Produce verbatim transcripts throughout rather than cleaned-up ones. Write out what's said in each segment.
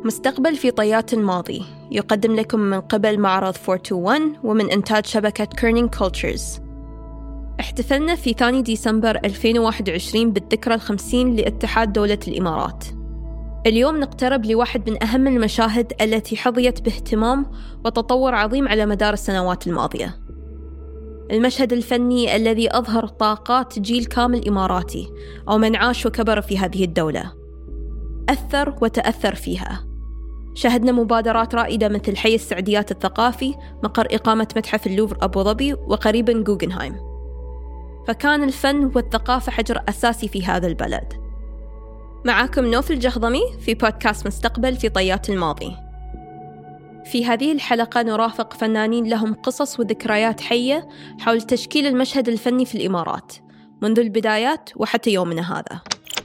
مستقبل في طيات الماضي يقدم لكم من قبل معرض أربعمية وواحد وعشرين ومن إنتاج شبكة كيرنينج كولتشرز. احتفلنا في ثاني ديسمبر ألفين وواحد وعشرين بالذكرى الخمسين لاتحاد دولة الإمارات. اليوم نقترب لواحد من أهم المشاهد التي حظيت باهتمام وتطور عظيم على مدار السنوات الماضية، المشهد الفني الذي أظهر طاقات جيل كامل إماراتي أو من عاش وكبر في هذه الدولة، أثر وتأثر فيها. شهدنا مبادرات رائدة مثل حي السعديات الثقافي، مقر إقامة متحف اللوفر أبو ظبي، وقريباً جوغنهايم. فكان الفن والثقافة حجر أساسي في هذا البلد. معاكم نوف الجهضمي في بودكاست مستقبل في طيات الماضي. في هذه الحلقة نرافق فنانين لهم قصص وذكريات حية حول تشكيل المشهد الفني في الإمارات منذ البدايات وحتى يومنا هذا.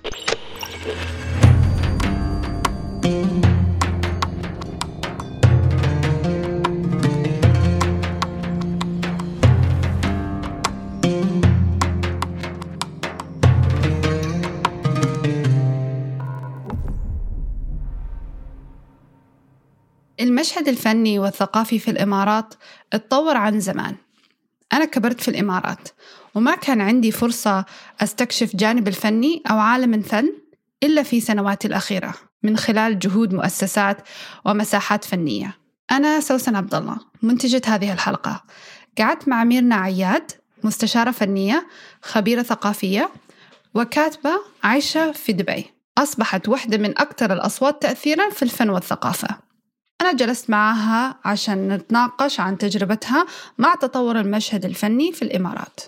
المشهد الفني والثقافي في الإمارات اتطور عن زمان. أنا كبرت في الإمارات وما كان عندي فرصة أستكشف جانب الفني أو عالم الفن إلا في سنواتي الأخيرة من خلال جهود مؤسسات ومساحات فنية. أنا سوسن عبد الله منتجة هذه الحلقة. قعدت مع ميرنا عياد، مستشارة فنية، خبيرة ثقافية، وكاتبة عايشة في دبي، أصبحت واحدة من أكثر الأصوات تأثيراً في الفن والثقافة. أنا جلست معها عشان نتناقش عن تجربتها مع تطور المشهد الفني في الإمارات.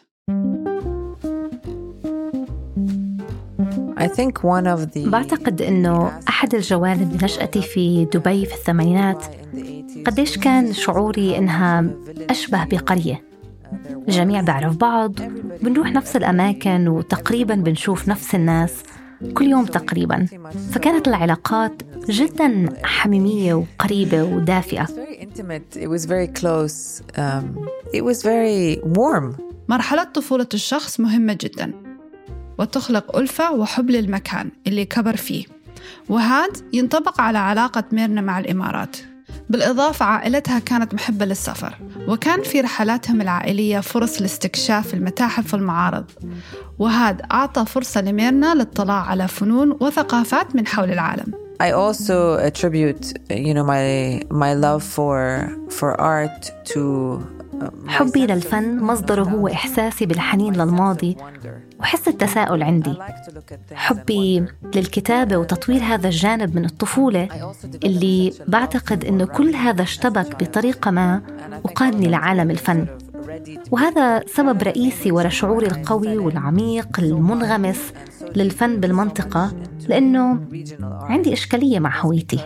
I think one of the... بعتقد أنه أحد الجوانب نشأتي في دبي في الثمانينات قديش كان شعوري أنها أشبه بقرية، الجميع بعرف بعض، بنروح نفس الأماكن وتقريباً بنشوف نفس الناس كل يوم تقريباً، فكانت العلاقات جداً حميمية وقريبة ودافئة. It was very close. Um, it was very warm. مرحلة طفولة الشخص مهمة جداً وتخلق ألفة وحب للمكان اللي كبر فيه، وهذا ينطبق على علاقة ميرنا مع الإمارات. بالإضافة عائلتها كانت محبة للسفر، وكان في رحلاتهم العائلية فرص لاستكشاف المتاحف والمعارض، وهذا أعطى فرصة لميرنا للاطلاع على فنون وثقافات من حول العالم. I also attribute, you know, my my love for for art to حبي للفن مصدره هو إحساسي بالحنين للماضي وحس التساؤل عندي. حبي للكتابة وتطوير هذا الجانب من الطفولة اللي بعتقد إنه كل هذا اشتبك بطريقة ما وقادني لعالم الفن، وهذا سبب رئيسي وراء شعوري القوي والعميق المنغمس للفن بالمنطقة، لأنه عندي إشكالية مع هويتي.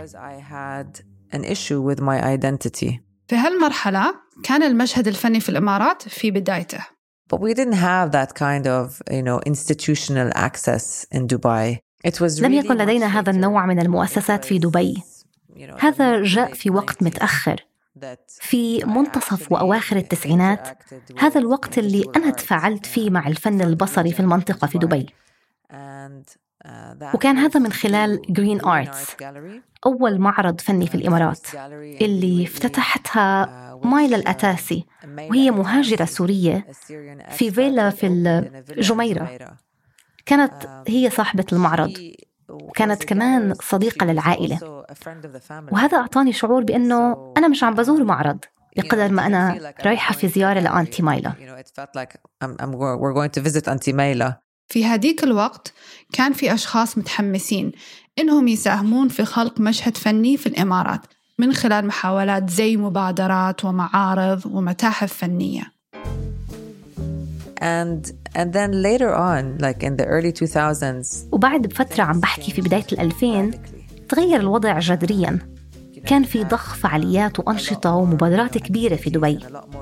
في هالمرحلة كان المشهد الفني في الإمارات في بدايته. But we didn't have that kind of, you know, institutional access in Dubai. It was لم يكن لدينا هذا النوع من المؤسسات في دبي. هذا جاء في وقت متأخر، في منتصف وأواخر التسعينات، هذا الوقت اللي أنا تفاعلت فيه مع الفن البصري في المنطقة في دبي. وكان هذا من خلال Green Arts، أول معرض فني في الإمارات اللي افتتحتها مايلا الأتاسي، وهي مهاجرة سورية في فيلا في الجميرة. كانت هي صاحبة المعرض، وكانت كمان صديقة للعائلة، وهذا أعطاني شعور بأنه أنا مش عم بزور معرض بقدر ما أنا رايحة في زيارة لأنتي مايلا. في هذيك الوقت كان في أشخاص متحمسين إنهم يساهمون في خلق مشهد فني في الإمارات من خلال محاولات زي مبادرات ومعارض ومتاحف فنية. And and then later on, like in the early two thousands. وبعد بفترة عم بحكي في بداية الألفين تغير الوضع جذريا. كان في ضخ فعاليات وأنشطة ومبادرات كبيرة في دبي.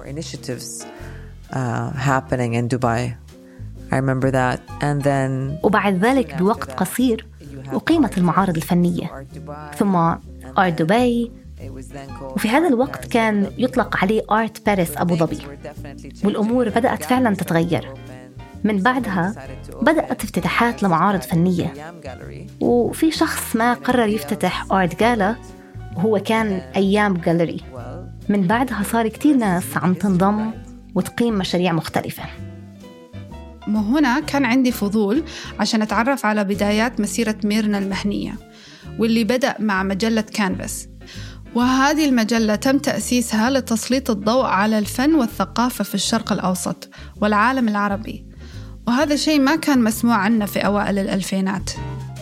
happening in Dubai. I remember that. And then. وبعد ذلك بوقت قصير أقيمت المعارض الفنية، ثم آرت دبي، وفي هذا الوقت كان يطلق عليه آرت باريس أبو ظبي، والأمور بدأت فعلا تتغير. من بعدها بدأت افتتاحات لمعارض فنية، وفي شخص ما قرر يفتتح آرت جالا وهو كان أيام جاليري. من بعدها صار كتير ناس عم تنضم وتقيم مشاريع مختلفة. وهنا كان عندي فضول عشان أتعرف على بدايات مسيرة ميرنا المهنية، واللي بدأ مع مجلة كانفاس. وهذه المجلة تم تأسيسها لتسليط الضوء على الفن والثقافة في الشرق الأوسط والعالم العربي، وهذا شيء ما كان مسموع عنه في أوائل الألفينات.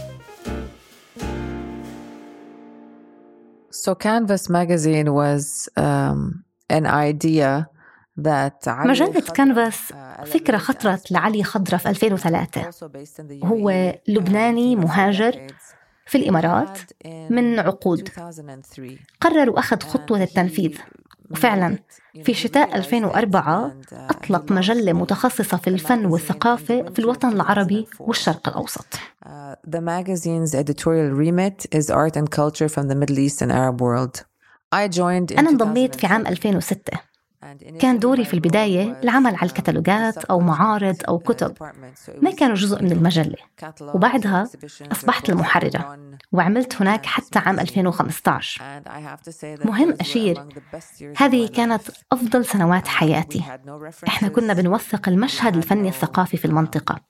So Canvas magazine was um, an idea that مجلة كانفاس فكرة خطرت لعلي خضرة في ألفين وثلاثة. هو لبناني مهاجر في الإمارات من عقود. قرر وأخذ خطوة التنفيذ، وفعلاً في شتاء ألفين وأربعة أطلق مجلة متخصصة في الفن والثقافة في الوطن العربي والشرق الأوسط. The magazine's editorial remit is art and culture from the Middle East and Arab world. I joined. أنا انضميت في عام ألفين وستة. كان دوري في البداية العمل على الكتالوجات أو معارض أو كتب، ما كانوا جزء من المجلة. وبعدها أصبحت المحررة وعملت هناك حتى عام ألفين وخمسة عشر. مهم أشير، هذه كانت أفضل سنوات حياتي. إحنا كنا بنوثق المشهد الفني الثقافي في المنطقة.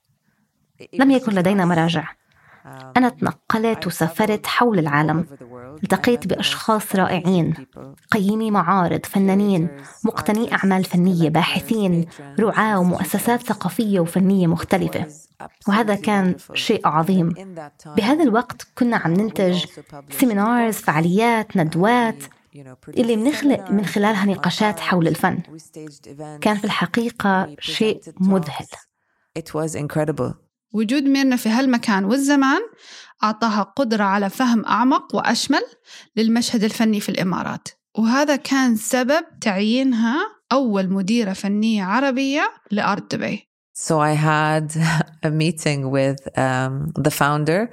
لم يكن لدينا مراجع. أنا تنقلت وسافرت حول العالم، التقيت بأشخاص رائعين، قيمي معارض، فنانين، مقتني أعمال فنية، باحثين، رعاة ومؤسسات ثقافية وفنية مختلفة، وهذا كان شيء عظيم. بهذا الوقت كنا عم ننتج سيمينارز، فعاليات، ندوات اللي بنخلق من خلالها نقاشات حول الفن. كان في الحقيقة شيء مذهل. It was incredible. وجود ميرنا في هالمكان والزمان أعطاها قدرة على فهم أعمق وأشمل للمشهد الفني في الإمارات، وهذا كان سبب تعيينها أول مديرة فنية عربية لآرت دبي. So I had a meeting with um, the founder.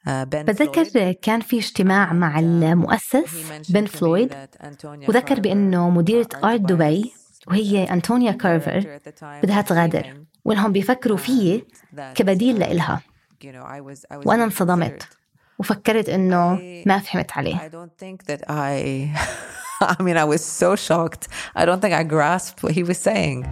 بذكر كان في اجتماع مع المؤسس بن فلويد، وذكر بأنه مديرة آرت دبي وهي أنتونيا كارفر بدها تغادر، وإنهم بيفكروا فيه كبديل لإلها. وأنا انصدمت وفكرت إنه ما فهمت عليه. I don't think that I I mean I was so shocked. I don't think I grasped what he was saying.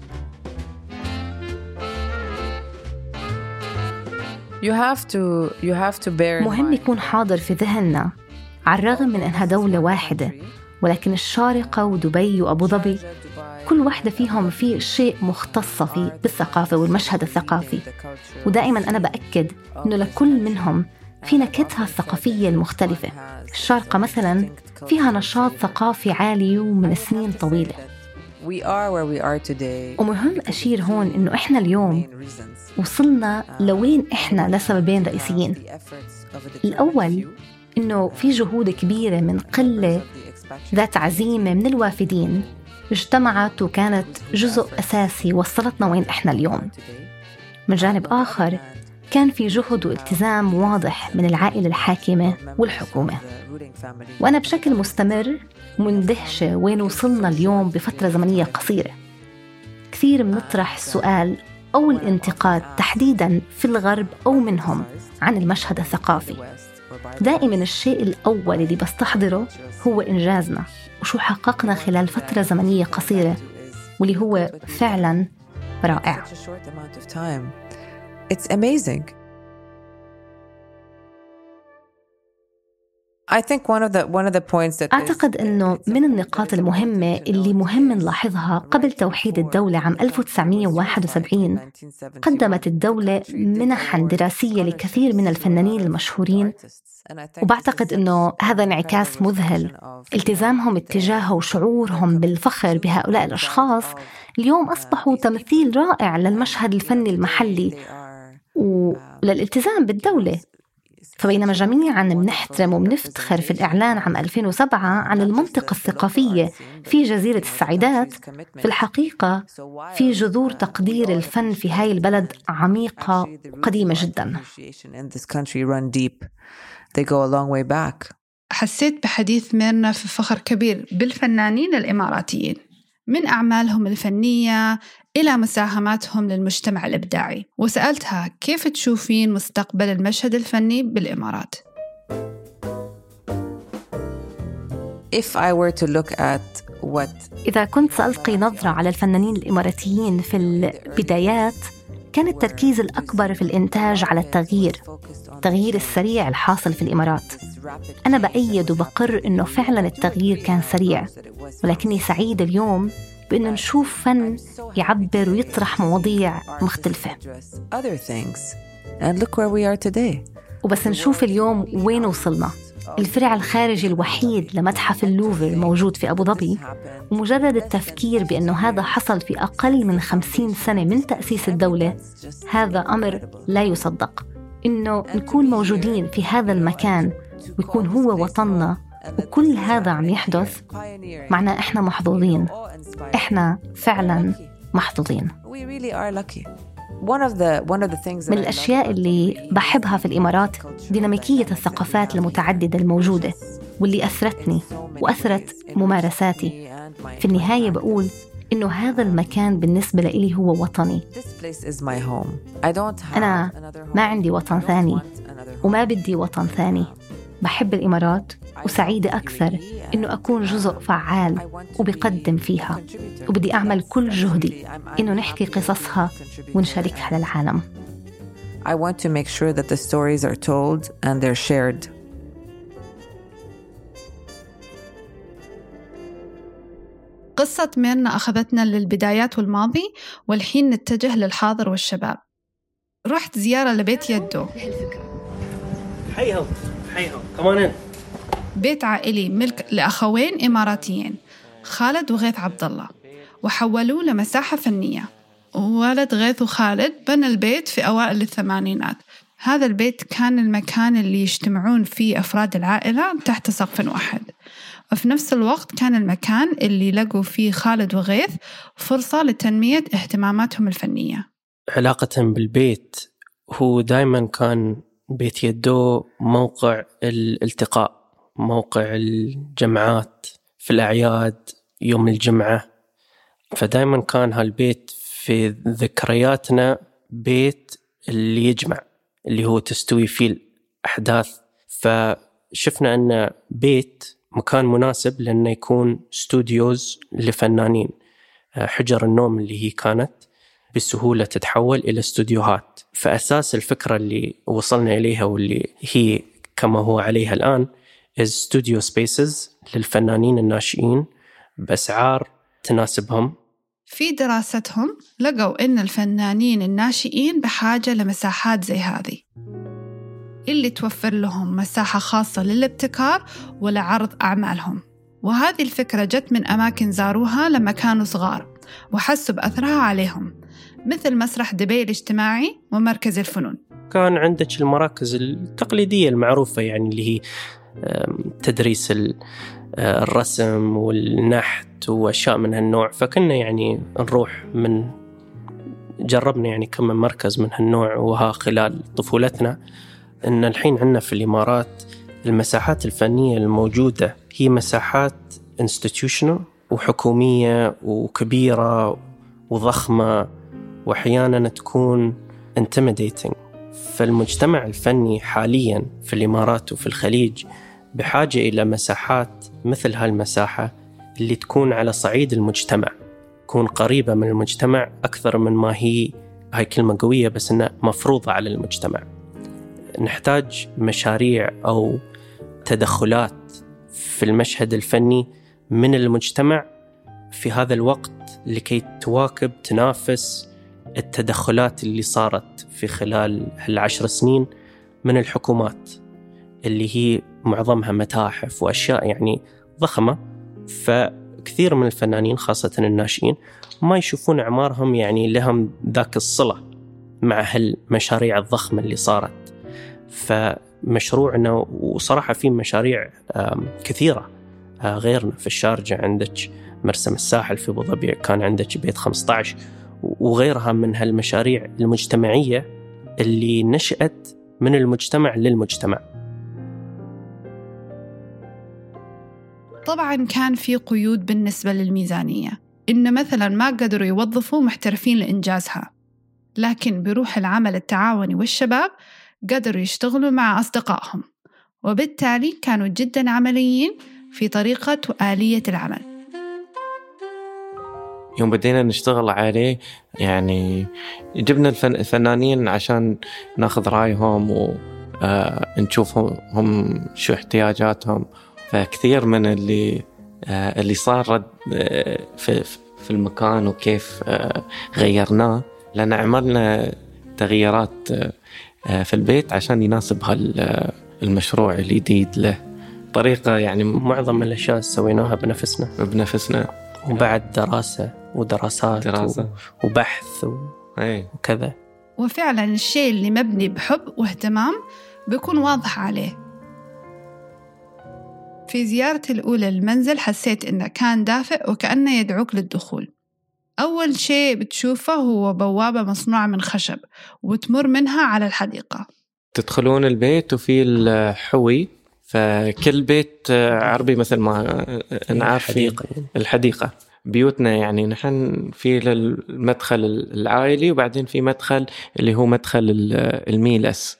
You have to you have to bear مهم يكون حاضر في ذهننا، على الرغم من أنها دولة واحدة، ولكن الشارقة ودبي وأبو ظبي كل واحدة فيهم في شيء مختص فيه بالثقافة والمشهد الثقافي. ودائما أنا بأكد أنه لكل منهم في نكهتها الثقافية المختلفة. الشارقة مثلا فيها نشاط ثقافي عالي ومن سنين طويلة. ومهم أشير هون أنه إحنا اليوم وصلنا لوين إحنا لسببين رئيسيين. الأول أنه في جهود كبيرة من قلة ذات عزيمة من الوافدين اجتمعت وكانت جزء أساسي وصلتنا وين إحنا اليوم. من جانب آخر كان في جهد والتزام واضح من العائلة الحاكمة والحكومة. وأنا بشكل مستمر مندهشة وين وصلنا اليوم بفترة زمنية قصيرة. كثير بنطرح السؤال أو الانتقاد تحديداً في الغرب أو منهم عن المشهد الثقافي. دائماً الشيء الأول اللي بستحضره هو إنجازنا وشو حققنا خلال فترة زمنية قصيرة، واللي هو فعلاً رائع. It's amazing. I think one of the one of the points that أعتقد أنه من النقاط المهمة اللي مهم نلاحظها قبل توحيد الدولة عام ألف وتسعمائة وواحد وسبعين قدمت الدولة منحاً دراسية لكثير من الفنانين المشهورين، وبعتقد أنه هذا انعكاس مذهل. التزامهم اتجاهه وشعورهم بالفخر بهؤلاء الأشخاص اليوم أصبحوا تمثيل رائع للمشهد الفني المحلي وللالتزام بالدولة. فبينما جميعاً بنحترم وبنفتخر في الإعلان عام ألفين وسبعة عن المنطقة الثقافية في جزيرة السعيدات، في الحقيقة في جذور تقدير الفن في هاي البلد عميقة وقديمة جداً. حسيت بحديث ميرنا في فخر كبير بالفنانين الإماراتيين، من أعمالهم الفنية إلى مساهماتهم للمجتمع الإبداعي، وسألتها كيف تشوفين مستقبل المشهد الفني بالإمارات؟ If I were to look at what إذا كنت سألقي نظرة على الفنانين الإماراتيين في البدايات، كان التركيز الأكبر في الإنتاج على التغيير التغيير السريع الحاصل في الإمارات. أنا بأيد وبقر إنه فعلا التغيير كان سريع، ولكني سعيد اليوم بإنه نشوف فن يعبر ويطرح مواضيع مختلفة. وبس نشوف اليوم وين وصلنا. الفرع الخارجي الوحيد لمتحف اللوفر موجود في أبو ظبي، ومجرد التفكير بأنه هذا حصل في أقل من خمسين سنة من تأسيس الدولة، هذا أمر لا يصدق. إنه نكون موجودين في هذا المكان ويكون هو وطننا وكل هذا عم يحدث، معناه إحنا محظوظين، إحنا فعلا محظوظين. من الأشياء اللي بحبها في الإمارات ديناميكية الثقافات المتعددة الموجودة، واللي أثرتني وأثرت ممارساتي. في النهاية بقول إنه هذا المكان بالنسبة لي هو وطني. أنا ما عندي وطن ثاني وما بدي وطن ثاني. بحب الإمارات وسعيدة أكثر إنه أكون جزء فعال وبقدم فيها، وبدي أعمل كل جهدي إنه نحكي قصصها ونشاركها للعالم. I want to make sure that the stories are told and they're shared. قصة ميرنا أخذتنا للبدايات والماضي، والحين نتجه للحاضر والشباب. رحت زيارة لبيت يدو، حيهم حيهم كمان بيت عائلي ملك لأخوين إماراتيين، خالد وغيث عبد الله، وحولوه لمساحة فنية. وولد غيث وخالد بنى البيت في أوائل الثمانينات. هذا البيت كان المكان اللي يجتمعون فيه أفراد العائلة تحت سقف واحد، وفي نفس الوقت كان المكان اللي لقوا فيه خالد وغيث فرصة لتنمية اهتماماتهم الفنية. علاقة بالبيت، هو دايما كان بيت يدو موقع الالتقاء، موقع الجمعات في الأعياد، يوم الجمعة. فدايما كان هالبيت في ذكرياتنا بيت اللي يجمع، اللي هو تستوي فيه الأحداث. فشفنا أن بيت مكان مناسب لأنه يكون ستوديوز لفنانين. حجر النوم اللي هي كانت بسهولة تتحول إلى استوديوهات. فأساس الفكرة اللي وصلنا إليها واللي هي كما هو عليها الآن is studio spaces للفنانين الناشئين بأسعار تناسبهم. في دراستهم لقوا إن الفنانين الناشئين بحاجة لمساحات زي هذه اللي توفر لهم مساحة خاصة للابتكار ولعرض أعمالهم. وهذه الفكرة جت من أماكن زاروها لما كانوا صغار وحسوا بأثرها عليهم، مثل مسرح دبي الاجتماعي ومركز الفنون. كان عندك المراكز التقليدية المعروفة، يعني اللي هي تدريس الرسم والنحت وأشياء من هالنوع. فكنا يعني نروح من جربنا يعني كم من مركز من هالنوع وها خلال طفولتنا. إن الحين عندنا في الإمارات المساحات الفنية الموجودة هي مساحات institutional وحكومية وكبيرة وضخمة، وأحيانا تكون intimidating. فالمجتمع الفني حاليا في الإمارات وفي الخليج بحاجة إلى مساحات مثل هالمساحة اللي تكون على صعيد المجتمع، تكون قريبة من المجتمع أكثر من ما هي، هاي كلمة قوية بس إنها مفروضة على المجتمع. نحتاج مشاريع أو تدخلات في المشهد الفني من المجتمع في هذا الوقت لكي تواكب تنافس التدخلات اللي صارت في خلال العشر سنين من الحكومات، اللي هي معظمها متاحف وأشياء يعني ضخمة. فكثير من الفنانين خاصة الناشئين ما يشوفون أعمارهم يعني لهم ذاك الصلة مع هالمشاريع الضخمة اللي صارت. فمشروعنا، وصراحة في مشاريع كثيرة غيرنا في الشارجة، عندك مرسم الساحل في أبو ظبي، كان عندك بيت خمسة عشر وغيرها من هالمشاريع المجتمعية اللي نشأت من المجتمع للمجتمع. طبعاً كان في قيود بالنسبة للميزانية، إن مثلا ما قدروا يوظفوا محترفين لإنجازها، لكن بروح العمل التعاوني والشباب قدروا يشتغلوا مع أصدقائهم، وبالتالي كانوا جدا عمليين في طريقة وآلية العمل. يوم بدينا نشتغل عليه يعني جبنا الفنانين عشان ناخذ رأيهم ونشوفهم هم شو احتياجاتهم. فكثير من اللي اللي صار في في المكان وكيف غيرناه، لأن عملنا تغييرات في البيت عشان يناسب هالمشروع الجديد له طريقة. يعني معظم الأشياء سويناها بنفسنا بنفسنا وبعد دراسة ودراسات دراسة. وبحث و... وكذا. وفعلا الشيء اللي مبني بحب واهتمام بيكون واضح عليه. في زيارتي الأولى للمنزل حسيت إنه كان دافئ وكأنه يدعوك للدخول. أول شيء بتشوفه هو بوابة مصنوعة من خشب وتمر منها على الحديقة. تدخلون البيت وفي الحوي، فكل بيت عربي مثل ما نعرف الحديقة. الحديقة بيوتنا يعني نحن في المدخل العائلي، وبعدين في مدخل اللي هو مدخل الميلس.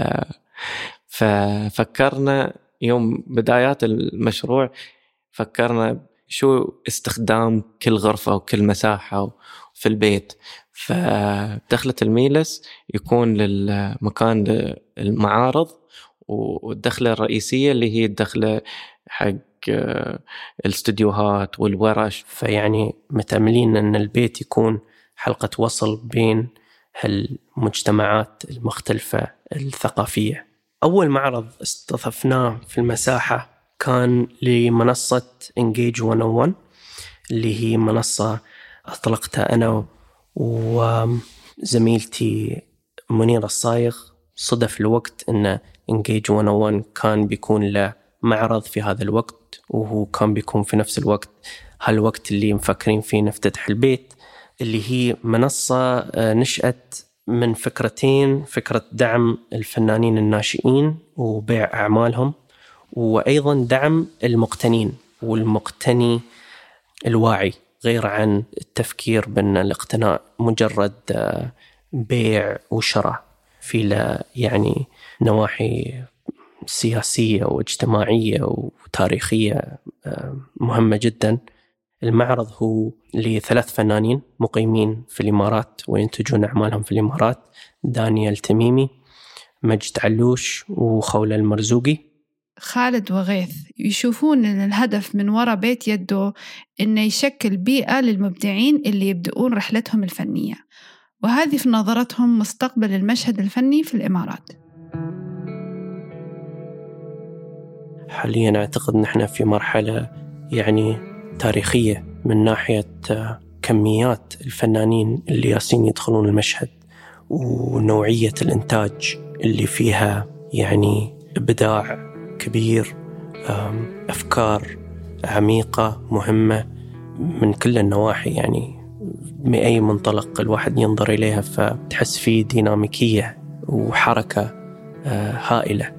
ففكرنا يوم بدايات المشروع فكرنا شو استخدام كل غرفة وكل مساحة في البيت. فدخلة الميلس يكون للمكان المعارض، والدخلة الرئيسية اللي هي الدخلة حق الاستديوهات والورش. فيعني متأملين أن البيت يكون حلقة وصل بين هالمجتمعات المختلفة الثقافية. أول معرض استضفناه في المساحة كان لمنصة Engage مية وواحد، اللي هي منصة أطلقتها أنا وزميلتي منيرة الصايغ. صدف الوقت أن Engage مية وواحد كان بيكون له معرض في هذا الوقت، وهو كان بيكون في نفس الوقت هالوقت اللي مفكرين فيه نفتتح البيت، اللي هي منصة نشأت من فكرتين: فكرة دعم الفنانين الناشئين وبيع أعمالهم، وأيضا دعم المقتنين والمقتني الواعي، غير عن التفكير بأن الاقتناء مجرد بيع وشراء، في لا يعني نواحي سياسية واجتماعية وتاريخية مهمة جدا. المعرض هو لثلاث فنانين مقيمين في الإمارات وينتجون أعمالهم في الإمارات: دانيال تميمي، مجد علوش، وخولة المرزوقي. خالد وغيث يشوفون أن الهدف من وراء بيت يدو إنه يشكل بيئة للمبدعين اللي يبدأون رحلتهم الفنية، وهذه في نظرتهم مستقبل المشهد الفني في الإمارات. حاليا أعتقد نحن في مرحلة يعني تاريخية من ناحية كميات الفنانين اللي ياسين يدخلون المشهد، ونوعية الإنتاج اللي فيها يعني إبداع كبير، أفكار عميقة مهمة من كل النواحي. يعني من أي منطلق الواحد ينظر إليها فتحس فيه ديناميكية وحركة هائلة.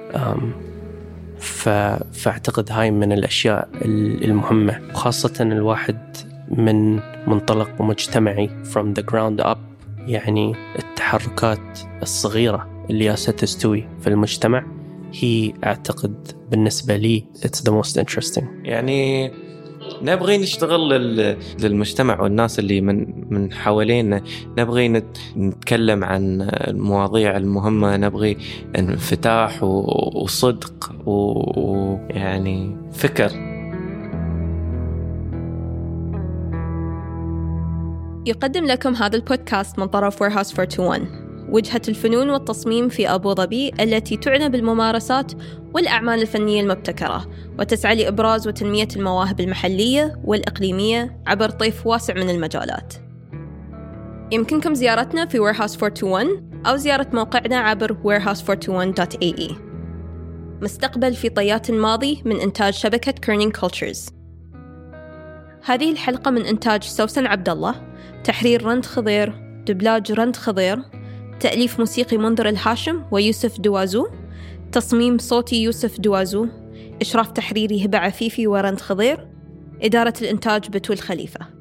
فأعتقد هاي من الأشياء المهمة، وخاصة الواحد من منطلق مجتمعي from the ground up، يعني التحركات الصغيرة اللي ياسة تستوي في المجتمع هي أعتقد بالنسبة لي it's the most interesting. يعني نبغي نشتغل للمجتمع والناس اللي من من حوالينا، نبغي نتكلم عن المواضيع المهمة، نبغي انفتاح وصدق ويعني فكر. يقدم لكم هذا البودكاست من طرف Warehouse أربعمية وواحد، وجهة الفنون والتصميم في أبو ظبي التي تعنى بالممارسات والأعمال الفنية المبتكرة، وتسعى لإبراز وتنمية المواهب المحلية والإقليمية عبر طيف واسع من المجالات. يمكنكم زيارتنا في Warehouse أربعمية وواحد أو زيارة موقعنا عبر ويرهاوس أربعمية وواحد دوت إيه إي. مستقبل في طيات الماضي من إنتاج شبكة كيرنينج كولتشرز. هذه الحلقة من إنتاج سوسن عبد الله، تحرير رند خضير، دبلاج رند خضير، تأليف موسيقي منذر الهاشم ويوسف دوازو، تصميم صوتي يوسف دوازو، إشراف تحريري هبة عفيفي ورند خضير، إدارة الإنتاج بتول خليفة.